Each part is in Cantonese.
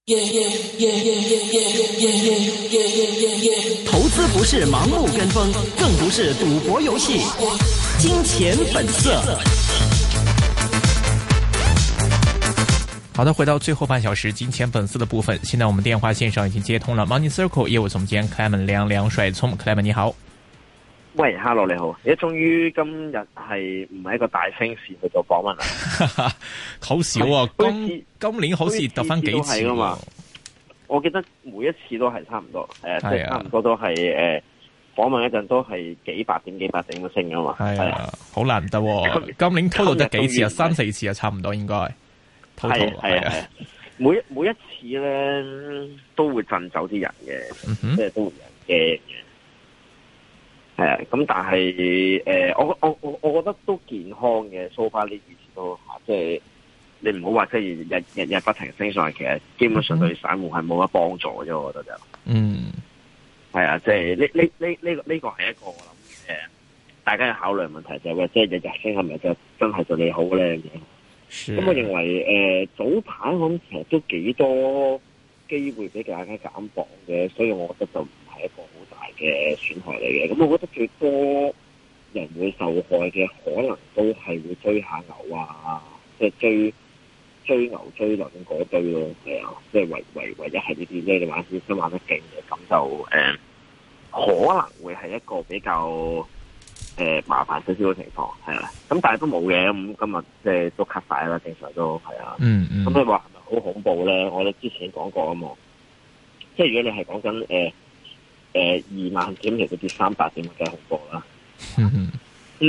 投資不是盲目跟風，更不是賭博遊戲。金錢本色。 好的，回到最後半小時金錢本色的部分。現在我們電話線上已經接通了 Money Circle 業務總監 Clement 梁帥聰 Clement 你好。 喂 ，Hello 你好，而家終於今日係唔係一個大升市去做訪問啦？ 好少啊，今年好似得翻幾次噶嘛？ 我記得每一次都係差唔多，即係差唔多都係訪問一陣都係幾百點咁升噶嘛。係啊， 好難得。今年 total 得幾次啊？3-4次啊，差唔多應該。 係啊，每一次咧都會震走啲人嘅，即係都會有人驚嘅。係啊，咁但係我覺得都健康嘅。so far 呢幾次都即係你唔好話即係日不停升上去，其實基本上對散戶係冇乜幫助啫。我覺得就係啊，即係呢個係一個我諗大家要考慮問題就係話，即係日日升係咪就真係對你好咧咁？咁我認為早排我諗其實都幾多機會俾大家減磅嘅，所以我覺得就唔係一個好大嘅損害嚟嘅。咁我覺得最多人會受害嘅可能都係會追下牛啊，即係追牛追輪嗰堆咯，係啊，即係唯一係呢啲咧，你玩先玩得勁嘅，咁就可能會係一個比較麻煩少少嘅情況，係啊，咁但係都冇嘅，咁今日即係都 cut 晒啦，正常都係啊。咁你話係咪好恐怖咧？我哋之前講過啊嘛，即係如果你係講緊2萬點，其實跌300點梗係恐怖啦。咁你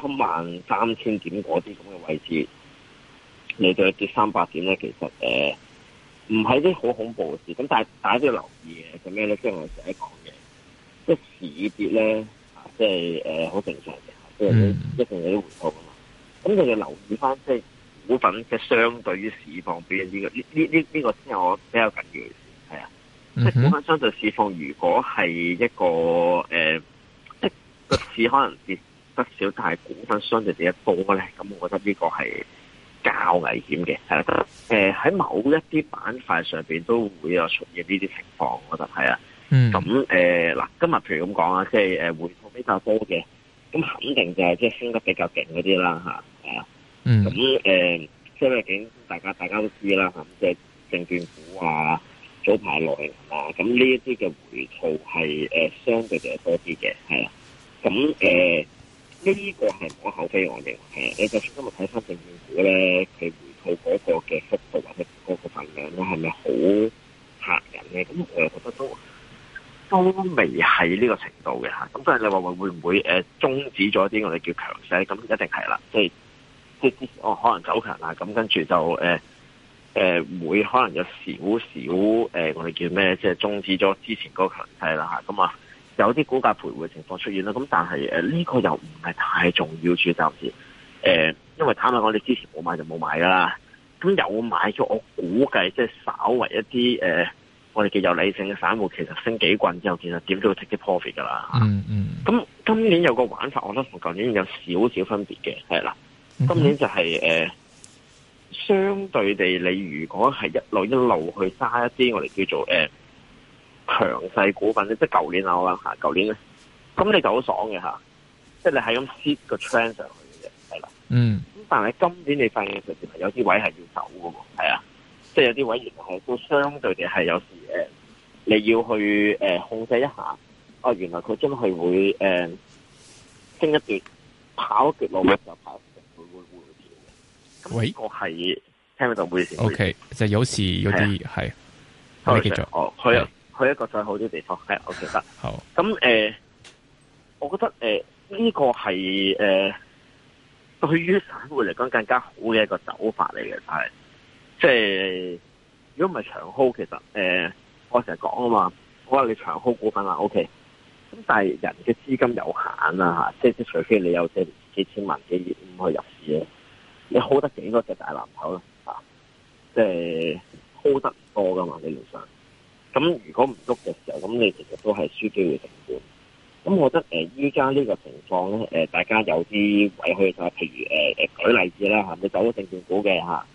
33000點嗰啲咁嘅位置，你對跌300點咧，其實唔係啲好恐怖嘅事。咁但係大家都要留意嘅，咁咩咧？即係我成日講嘅，即係市跌咧。即係好正常嘅，即係一定有啲回吐啊嘛。咁你要留意翻，即係股份嘅相對於市況表現呢個先係我比較緊要嘅事，係啊。即係股份相對市況，如果係一個即係個市可能跌得少，但係股份相對跌得多咧，咁我覺得呢個係較危險嘅，係啦。喺某一啲板塊上邊都會有出現呢啲情況，我覺得係啊。咁嗱，今日譬如咁講啊，即係回吐比較多嘅，咁肯定就係即係升得比較勁嗰啲啦嚇，係啊。咁即係畢竟大家都知啦嚇，即係證券股啊、早排內銀啊，咁呢一啲嘅回吐係相對就係多啲嘅，係啊。咁呢個係無可厚非，我認為係啊。你就算今日睇翻證券股咧，佢回吐嗰個嘅幅度或者嗰個份量咧，係咪好嚇人咧？咁我又覺得都未係呢個程度嘅嚇，咁所以你話會唔會終止咗啲我哋叫強勢？咁一定係啦，即係之前可能走強啦，咁跟住就會可能有少少我哋叫咩？即係終止咗之前嗰個強勢啦嚇，咁啊有啲股價徘徊情況出現啦，咁但係呢個又唔係太重要住暫時，因為坦白講，你之前冇買就冇買噶啦，咁有買咗，我估計即係稍為一啲我哋叫有理性嘅散戶，其實升幾棍之後，其實點都要 take 啲 profit 噶啦。咁今年有個玩法，我覺得同舊年有少少分別嘅，係啦。今年就係相對地，你如果係一路去揸一啲我哋叫做強勢股份咧，即係舊年我啦嚇，舊年咧，咁你就好爽嘅嚇，即係你係咁 hit 個 trend 上去嘅，係啦。咁但係今年你發現其實有啲位係要走嘅喎，係啊。即係有啲位原來係都相對地係有時你要去控制一下。原來佢真係會升一段跑一段路嘅時候跑會跳嘅。咁呢個係聽到會先。OK， 就有時有啲係。可以繼續。 去一個再好啲地方係 OK 得。好。咁我覺得呢個係對於散戶嚟講更加好嘅一個走法嚟嘅，就係。即係如果唔係長 hold， 其實我成日講啊嘛，我話你長 hold 股份啊 OK， 咁但係人嘅資金有限啊嚇，即係除非你有幾千萬幾億咁去入市咧，你 hold 得幾多隻大藍籌咧嚇？即係 hold 得唔多噶嘛理論上。咁如果唔喐嘅時候，咁你其實都係輸機會成本。咁我覺得依家呢個情況咧大家有啲位去就係譬如舉例子啦嚇，你走咗證券股嘅嚇。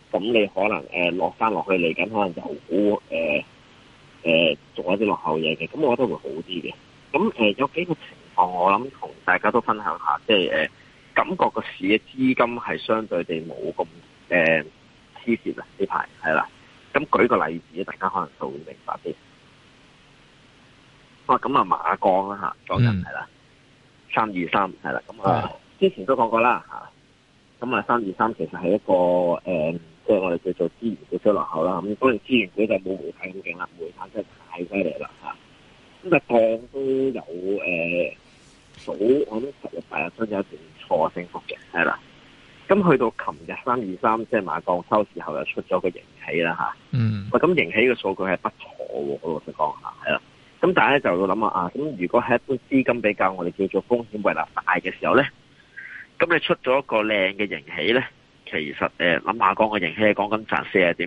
咁你可能落翻落去嚟緊，可能就好做一啲落後嘢嘅，咁我覺得會好啲嘅。咁有幾個情況，我諗同大家都分享下，即係感覺個市嘅資金係相對地冇咁黐線啊呢排係啦。咁舉個例子，大家可能就會明白啲。咁馬鋼啦嚇，講緊係啦，323係啦，咁之前都講過啦嚇。咁323其實係一個即係我哋叫做資源股落後啦。咁當然資源股就冇煤炭咁勁啦，煤炭真係太犀利啦嚇。咁鋼都有我諗10日8日都有一段錯升幅嘅，係啦。咁去到琴日323，即係馬鋼收市後又出咗個盈喜啦嚇。咁盈喜嘅數據係不錯喎，我老實講下係啦。咁大家就要諗下咁如果係一般資金比較我哋叫做風險胃納大嘅時候咧，咁你出咗一個靚嘅盈喜咧，其實諗馬鋼嘅盈喜係講緊賺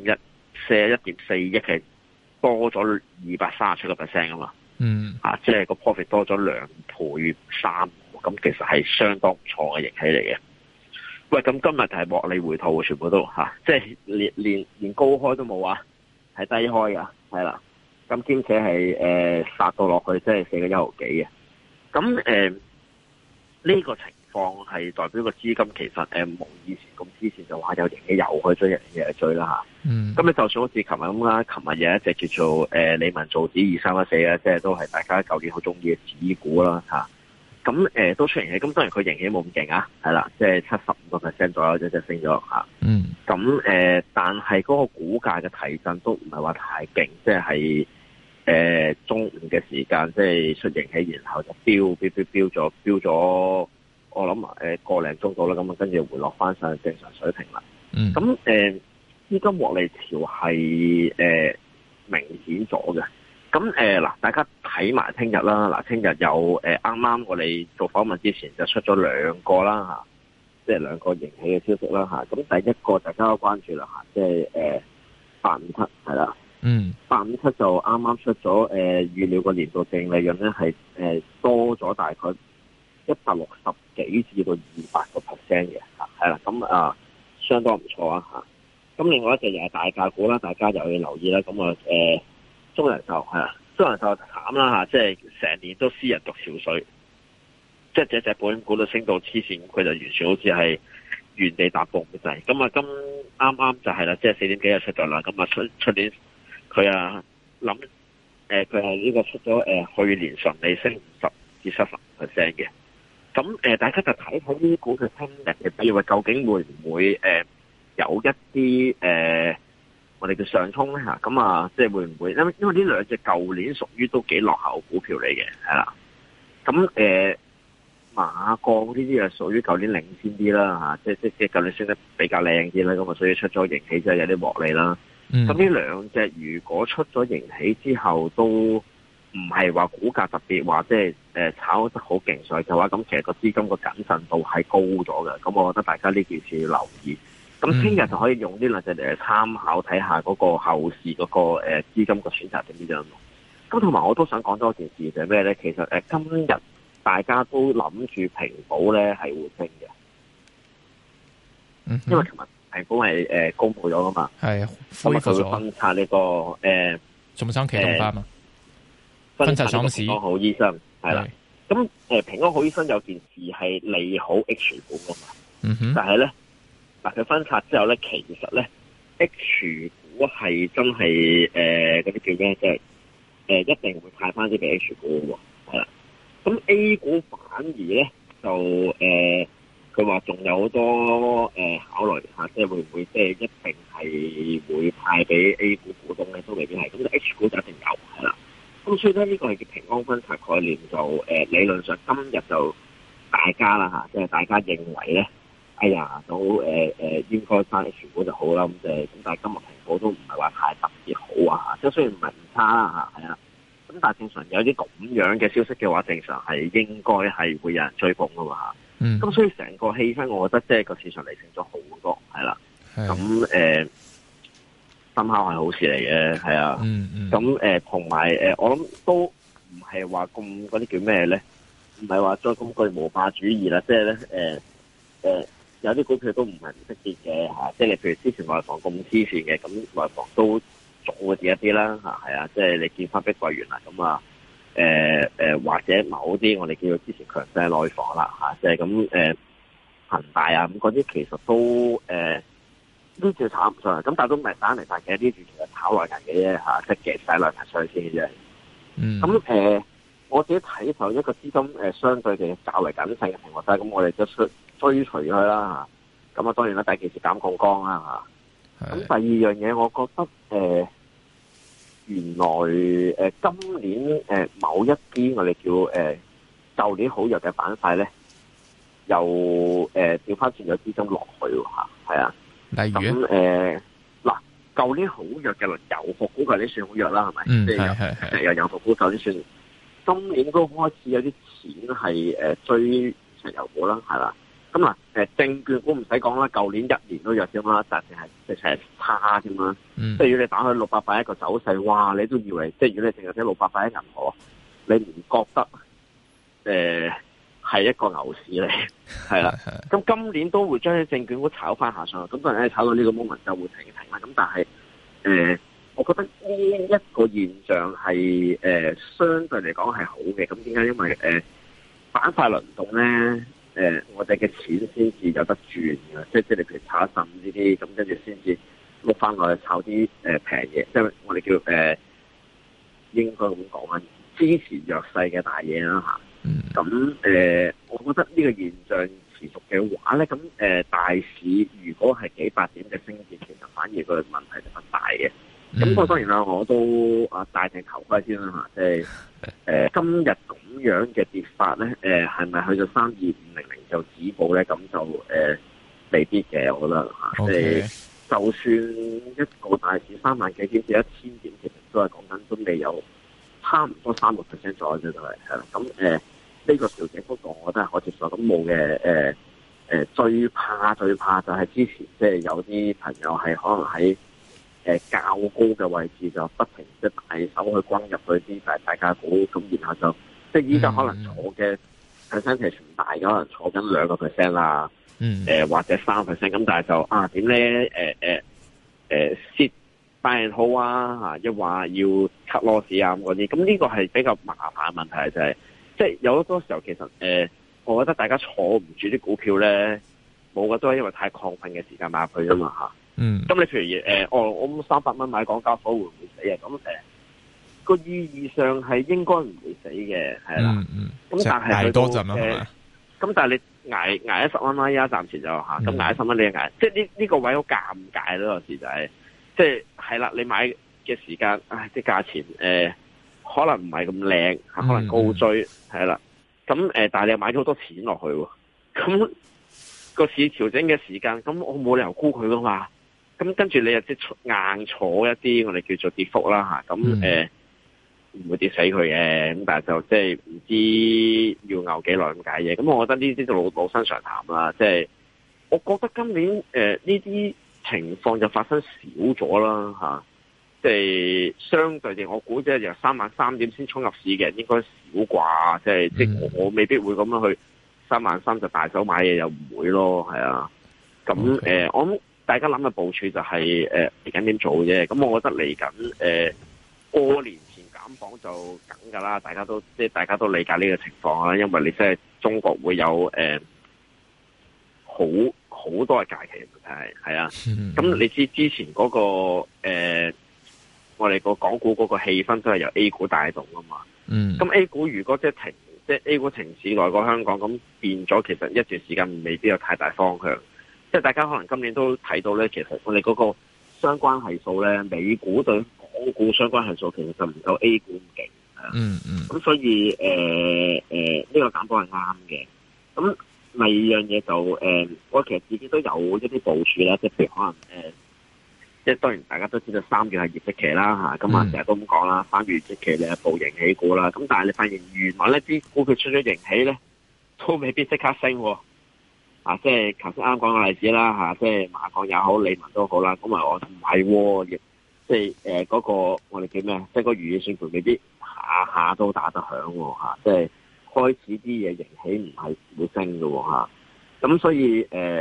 41.4億，係多咗237%噶嘛。即係個 profit 多咗2倍3，咁其實係相當唔錯嘅盈喜嚟嘅。喂，咁今日就係獲利回吐，全部都即係連高開都冇啊，係低開噶，係啦。咁兼且係殺到落去，即係4個1毫幾嘅。咁呢個情況係代表個資金其實冇以前咁之前就話有盈喜又去追，又去追啦嚇。咁你就算好似琴日咁啦，琴日有一隻叫做理文造紙2314咧，即係都係大家舊年好中意嘅紙股啦嚇。咁都出盈喜，咁當然佢盈喜冇咁勁啊，係啦，即係75%左右一隻升咗嚇。咁但係嗰個股價嘅提振都唔係話太勁，即係中午嘅時間即係出盈喜，然後就飆咗，我諗個零鐘到啦，咁跟住回落翻上正常水平啦。咁資金獲利潮係明顯咗嘅。咁嗱，大家睇埋聽日啦。嗱，聽日有啱啱我哋做訪問之前就出咗2個啦嚇，即係2個盈喜嘅消息啦嚇。咁第一個大家都關注啦嚇，即係857係啦。857就啱啱出咗預料個年度淨利潤咧係多咗大概160幾至到200%嘅嚇，係啦。咁相當唔錯啊嚇。咁另外一隻又係大價股啦，大家又要留意啦。咁中人壽係啦，中人壽慘啦嚇，即係成年都私人獨潮水，即係隻保險股都升到黐線，佢就完全好似係原地踏步咁滯。咁啱啱就係啦，即係4點幾就出咗啦。咁出年佢諗佢係呢個出咗去年純利升50至70% 嘅。咁大家就睇睇呢啲股嘅聽日嘅表現，究竟會唔會有一啲我哋嘅上衝咧嚇？咁即係會唔會？因為呢兩隻舊年屬於都幾落後股票嚟嘅，係啦。咁馬鋼呢啲係屬於舊年領先啲啦嚇，即係舊年升得比較靚啲啦，咁所以出咗盈喜之後有啲獲利啦。咁呢兩隻如果出咗盈喜之後都唔係話股價特別話即係炒得好勁上嘅話，咁其實個資金個謹慎度係高咗嘅。咁我覺得大家呢件事要留意。咁聽日就可以用呢兩隻嚟參考睇下嗰個後市嗰個資金個選擇點樣。咁同埋我都想講多一件事就係咩咧？其實今日大家都諗住平保咧係會升嘅，因為琴日平保係公布咗噶嘛，係恢復咗分拆呢個重新啟動翻嘛，分拆上市。平安好醫生係啦， 咁平安好醫生有件事係利好 H 股噶嘛，但係咧。嗱，佢分拆之後咧，其實咧 H 股係真係嗰啲叫咩？即係一定會派翻啲俾 H 股喎，係啦。咁 A 股反而咧就佢話仲有好多考慮嚇，即係會唔會即係一定係會派俾 A 股股東咧？都未必係。咁 H 股就一定有係啦。咁所以咧呢個係叫平安分拆概念，就理論上今日就大家啦嚇，即係大家認為咧。哎呀，都應該翻 H 股就好啦，咁但係今日平保都唔係話太特別好啊，即係雖然唔係唔差啦嚇，係啊，咁但係正常有啲咁樣嘅消息嘅話，正常係應該係會有人追捧噶嘛嚇。咁所以成個氣氛，我覺得即係個市場理性咗好多，係啦。咁深刻係好事嚟嘅，係啊。咁同埋我諗都唔係話咁嗰啲叫咩咧？唔係話再咁巨無霸主義啦，即係咧有啲股票都唔係唔識跌嘅嚇，即係你譬如之前內房咁黐線嘅，咁內房都仲會跌一啲啦嚇，係啊，即係你見翻碧桂園啦，咁啊或者某啲我哋叫做之前強勢內房啦嚇，即係咁恒大啊咁嗰啲其實都呢段炒唔上，咁但係都唔係打嚟曬嘅，呢段其實炒內銀嘅啫嚇，即係夾曬內銀上先嘅啫。咁我自己睇就一個資金相對地較為謹慎嘅情況下，咁我哋就追隨佢啦嚇。咁啊當然啦，第一件事減槓桿啦嚇。咁第二樣嘢，我覺得原來今年某一啲我哋叫舊年好弱嘅板塊咧，又調翻轉咗資金落去嚇，係啊。 例如咁嗱，舊年好弱嘅油服股，舊年算好弱啦，係咪？即係油服股舊年算。今年都開始有啲錢係追石油股啦，係啦。咁嗱證券股唔使講啦，舊年一年都弱啫嘛，但係係差啫嘛。即係如果你打去681個走勢，哇！你都以為即係如果你淨係睇681銀河，你唔覺得係一個牛市嚟？係啦。咁今年都會將啲證券股炒翻下上去，咁當然炒到呢個 moment 就會停啦。咁但係我覺得呢一個現象係相對嚟講係好嘅。咁點解？因為板塊輪動咧，我哋嘅錢先至有得轉嘅。即係你譬如炒一陣呢啲，咁跟住先至碌翻落去炒啲平嘢。即係我哋叫應該咁講啊，支持弱勢嘅大嘢啦嚇。咁我覺得呢個現象持續嘅話咧，咁大市如果係幾百點嘅升跌，其實反而個問題就不大嘅。咁不過當然啦，我都戴定頭盔先啦嚇，即係今日咁樣嘅跌法咧，係咪去到32500就止步咧？咁就未必嘅，我覺得嚇。即係就算一個大市3萬幾點至1000點，其實都係講緊都未有差唔多3%左右啫，都係啦。咁呢個調整幅度，我覺得係可接受。咁冇嘅最怕就係之前即係有啲朋友係可能喺較高嘅位置就不停即係大手去轟入去啲大價股，咁然後就即係依家可能坐嘅 percentage 唔大，可能坐緊2% 啦，或者3%，咁但係就點咧蝕buy and hold啊，一話要 cut loss 啊咁嗰啲，咁呢個係比較麻煩嘅問題就係，即係有好多時候其實我覺得大家坐唔住啲股票咧，冇嘅都係因為太亢奮嘅時間買入去啊嘛嚇。咁你譬如我300蚊買港交所會唔會死啊？咁個意義上係應該唔會死嘅，係啦。咁但係捱多陣啦，係嘛？ 咁但係你捱10蚊啦，而家暫時就嚇，咁捱10蚊你捱，即係呢個位好尷尬咯。有時就係即係啦，你買嘅時間，啲價錢可能唔係咁靚，可能高追係啦。咁但係你又買咗好多錢落去喎，咁個市調整嘅時間，咁我冇理由沽佢噶嘛。咁跟住你又即硬坐一啲我哋叫做跌幅啦嚇，咁唔會跌死佢嘅，咁但係就即係唔知要熬幾耐咁解嘢。咁我覺得呢啲就老生常談啦。即係我覺得今年呢啲情況就發生少咗啦嚇，即係相對地，我估即係由33000點先衝入市嘅人應該少啩，即係我未必會咁樣去33000就大手買嘢，又唔會咯，係啊。咁我諗大家諗嘅部署就係嚟緊點做啫。咁我覺得嚟緊過年前減磅就梗㗎啦，大家都理解呢個情況啦，因為你即係中國會有好多嘅假期係啊。咁你知之前嗰個我哋個港股嗰個氣氛都係由 A 股帶動啊嘛。咁 A 股如果即係 A 股停市來過香港，咁變咗其實一段時間未必有太大方向。即係大家可能今年都睇到咧，其實我哋嗰個相關係數咧，美股對港股相關係數其實就唔夠 A 股咁勁。咁所以呢個減磅係啱嘅。咁第二樣嘢就我其實自己都有一啲部署啦，即係譬如可能即係當然大家都知道3月係業績期啦嚇，咁成日都咁講啦，3月業績期你係報盈喜股啦。咁但係你發現原來呢啲股票出咗盈喜咧，都未必即刻升喎。即係頭先啱講嘅例子啦嚇，即係馬鋼也好，理文都好啦。咁我唔係喎，即係嗰個我哋叫咩？即係個如意算盤未必下下都打得響喎嚇。即係開始啲嘢盈喜唔係會升嘅喎嚇。咁所以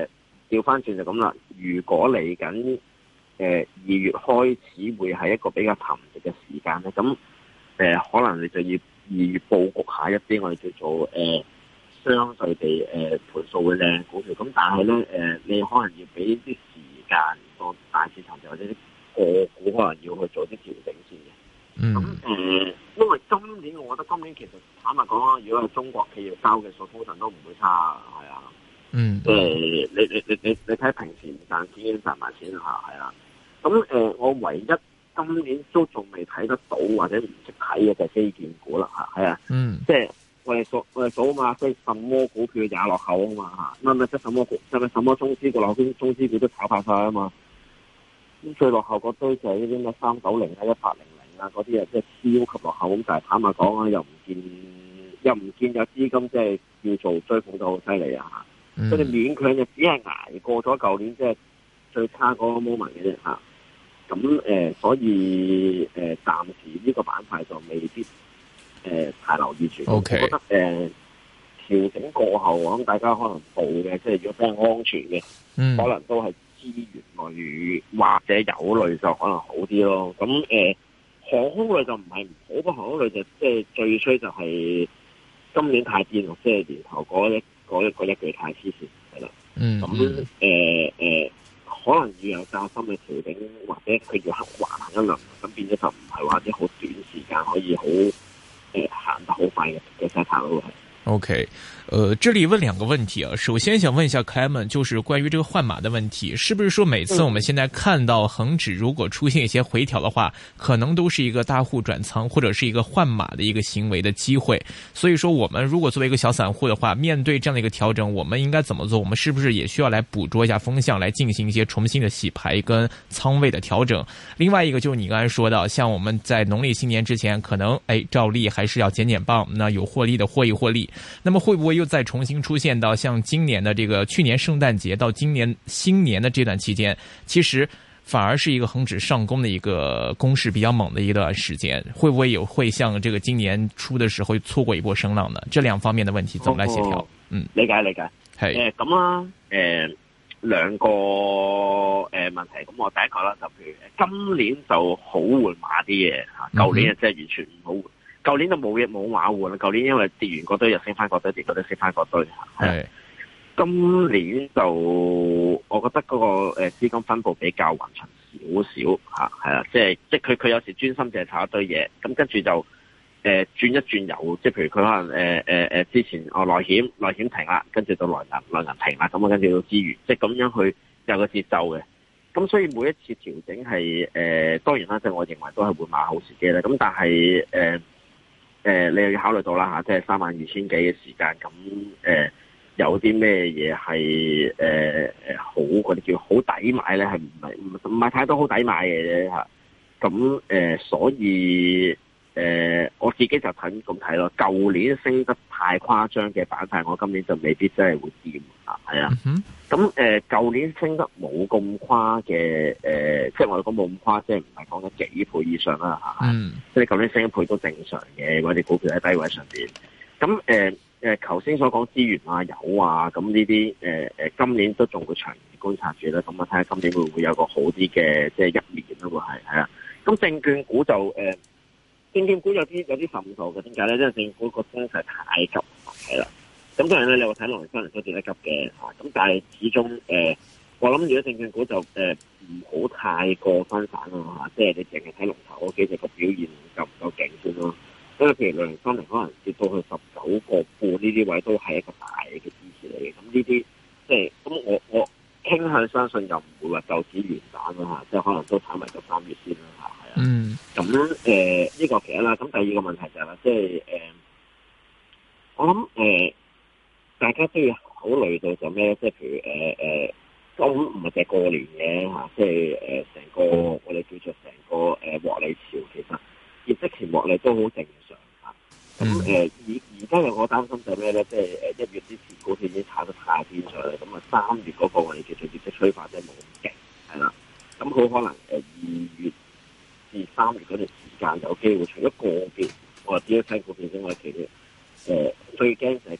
調翻轉就咁啦。如果嚟緊2月開始會係一個比較沉寂嘅時間咧，咁可能你就要2月佈局下一啲我哋叫做相對地盤數會靚股票。咁但係咧你可能要俾啲時間個大市場或者啲個股可能要去做啲調整先嘅。咁因為今年我覺得今年其實坦白講啦，如果係中國企業交嘅數，通常都唔會差，係啊。即係你睇平時唔賺錢已經賺埋錢啦，係啦。咁我唯一今年都仲未睇得到或者唔識睇嘅就係基建股啦，係啊。即係我哋數嘛，即係什麼股票也落後啊嘛，嚇。乜即係什麼股，係咪什麼中資股落後，中資股都炒爆晒啊嘛。咁最落後嗰堆就係呢啲咩390啊、1800啊嗰啲啊，即係超級落後。咁但係坦白講啊，又唔見有資金即係叫做追捧得好犀利啊！佢哋勉強就只係捱過咗舊年即係最差嗰個 moment 嘅啫嚇。咁所以暫時呢個板塊就未必太留意住。 Okay. 我覺得調整過後，我諗大家可能報嘅，即係如果比較安全嘅，可能都係資源類或者油類就可能好啲咯。咁航空類就唔係唔好，不過航空類就即係最衰就係今年太癲咯，即係年頭嗰一句太黐線係啦。咁可能要有較深嘅調整，或者佢要橫行一輪，咁變咗就唔係話啲好短時間可以好行得好快嘅勢頭咯。 OK，這裏問兩個問題啊。首先想問一下 Clement， 就是關於這個換馬的問題，是不是說每次我們現在看到恒指如果出現一些回調的話，可能都是一個大戶轉倉或者是一個換馬的一個行為的機會？所以說我們如果作為一個小散戶的話，面對這樣的一個調整，我們應該怎麼做？我們是不是也需要來捕捉一下風向，來進行一些重新的洗牌跟倉位的調整？另外一個就是你剛才說到，像我們在農曆新年之前，可能照例還是要減磅，那有獲利的獲利。那麼會不會又再重新出現到像今年的這個去年聖誕節到今年新年的這段期間，其實反而是一個恒指上攻的一個攻勢比較猛的一段時間，會不會像這個今年初的時候錯過一波聲浪呢？這兩方面的問題怎麼來協調？ 理解係咁啦，兩個問題。咁我第一個啦，就譬如今年就好換馬啲嘢吓，舊年即係完全唔好換。舊年就冇馬換啦，舊年因為跌完嗰堆又升翻嗰堆，跌嗰堆升翻嗰堆。係今年就我覺得嗰個資金分佈比較勻循少少嚇，係啦，即係佢有時專心淨係炒一堆嘢，咁跟住就轉一轉油，即係譬如佢可能之前內險停啦，跟住到內銀停啦，咁啊跟住到資源，即係咁樣去有個節奏嘅。咁所以每一次調整係當然啦，即係我認為都係換馬好時機啦。咁但係你又要考慮到啦嚇，即係32000幾嘅時間，咁有啲咩嘢係好嗰啲叫好抵買咧？係唔係太多好抵買嘅啫嚇？咁所以我自己就睇咁睇咯。舊年升得太誇張嘅板塊，我今年就未必真係會掂啊，係啊。咁舊年升得冇咁誇嘅即係我哋講冇咁誇，即係唔係講緊幾倍以上啦嚇。即係舊年升一倍都正常嘅，或者股票喺低位上邊。咁頭先所講資源啊、油啊，咁呢啲今年都仲會長期觀察住啦。咁啊睇下今年會唔會有個好啲嘅即係一年咯？會係啊。咁證券股就證券股有啲滲數嘅，點解咧？因為證券股個升勢太急，係啦。咁當然咧，你話睇農曆新年都跌得急嘅嚇，咁但係始終我諗如果證券股就唔好太過分散咯嚇，即係你淨係睇龍頭嗰幾隻個表現夠唔夠勁先咯。因為譬如農曆新年可能跌到去19個半呢啲位都係一個大嘅支持嚟嘅。咁呢啲即係咁我傾向相信又唔會話就此完蛋咯嚇，即係可能都睇埋到3月先啦嚇，係啊。咁呢個其一啦。咁第二個問題就係啦，即係我諗大家都要考慮到就咩？即係譬如咁唔係淨係過年嘅嚇，即係成個我哋叫做成個獲利潮，其實業績前獲利都好正常嚇。咁而家有我擔心就係咩咧？即係1月之前股票已經炒得太癲上嚟，咁啊3月嗰個我哋叫做業績催化真係冇咁勁，係啦。咁好可能2月至3月嗰段時間有機會，除咗個別我話只要睇股票之外，其實最驚就係個大市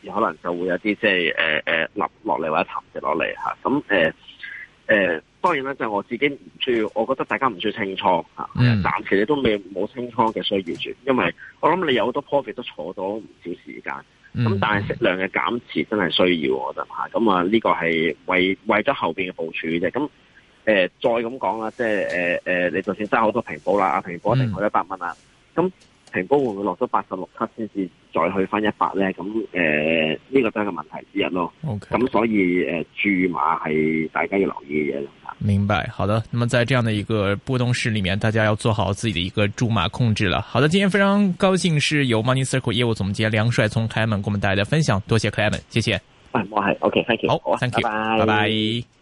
時可能就會有啲即係落嚟或者沉跌落嚟嚇。咁當然啦，就我自己唔需要，我覺得大家唔需要清倉嚇。暫時你都冇清倉嘅需要住，因為我諗你有好多 profit 都坐咗唔少時間。咁但係適量嘅減持真係需要，我覺得嚇。咁啊呢個係為咗後邊嘅部署嘅啫。咁再咁講啦，即係你就算揸好多平保啦，平保一定去100蚊啦。咁平保會唔會落咗86級先至再去翻100咧？咁呢個都係個問題之一咯。咁所以注碼係大家要留意嘅嘢。 明白，好的。那麼在這樣的一個波動市裏面，大家要做好自己的一個注碼控制了。好的，今天非常高興是由 Money Circle 業務總監梁帥聰 Clement 給我們帶來的分享，多謝 Clement，謝謝。 我係 OK，thank you。 好，thank you，拜拜。